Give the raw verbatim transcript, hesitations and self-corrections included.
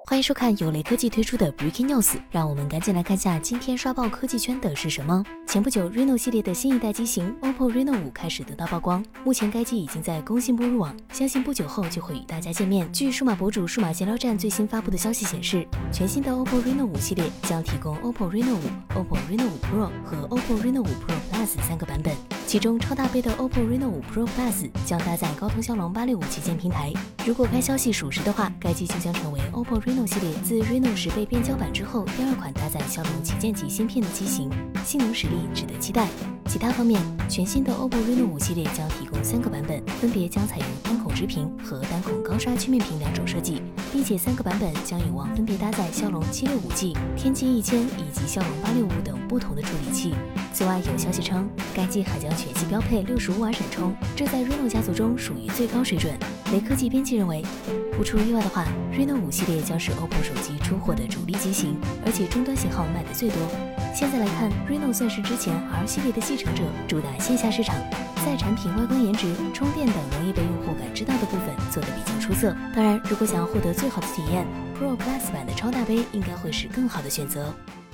欢迎收看由雷科技推出的 Breaking News， 让我们赶紧来看下今天刷爆科技圈的是什么。前不久 Reno 系列的新一代机型 O P P O Reno 五开始得到曝光，目前该机已经在工信部入网，相信不久后就会与大家见面。据数码博主数码闲聊站最新发布的消息显示，全新的 O P P O Reno 五系列将提供 O P P O Reno 五、O P P O Reno 五 Pro 和 O P P O Reno 五 Pro Plus 三个版本，其中超大杯的 O P P O Reno 五 Pro Plus 将搭载高通骁龙八六五旗舰平台。如果该消息属实的话，该机就将成为 O P P O Reno 系列自 Reno 十倍变焦版之后第二款搭载骁龙旗舰级芯片的机型，性能实力值得期待。其他方面，全新的 O P P O Reno 五系列将提供三个版本，分别将采用单孔直屏和单孔高刷曲面屏两种设计，并且三个版本将有望分别搭载骁龙七六五 G、天玑一千以及骁龙八六五等不同的处理器。此外，有消息称，该机还将全系标配六十五瓦闪充，这在 Reno 家族中属于最高水准。雷科技编辑认为，不出意外的话 ，Reno 五系列将是 O P P O 手机出货的主力机型，而且终端型号卖的最多。现在来看 ，Reno 算是之前 R 系列的继承者，主打线下市场，在产品外观颜值、充电等容易被用户感知到的部分做得比较出色。当然，如果想要获得最好的体验 ，Pro Plus 版的超大杯应该会是更好的选择。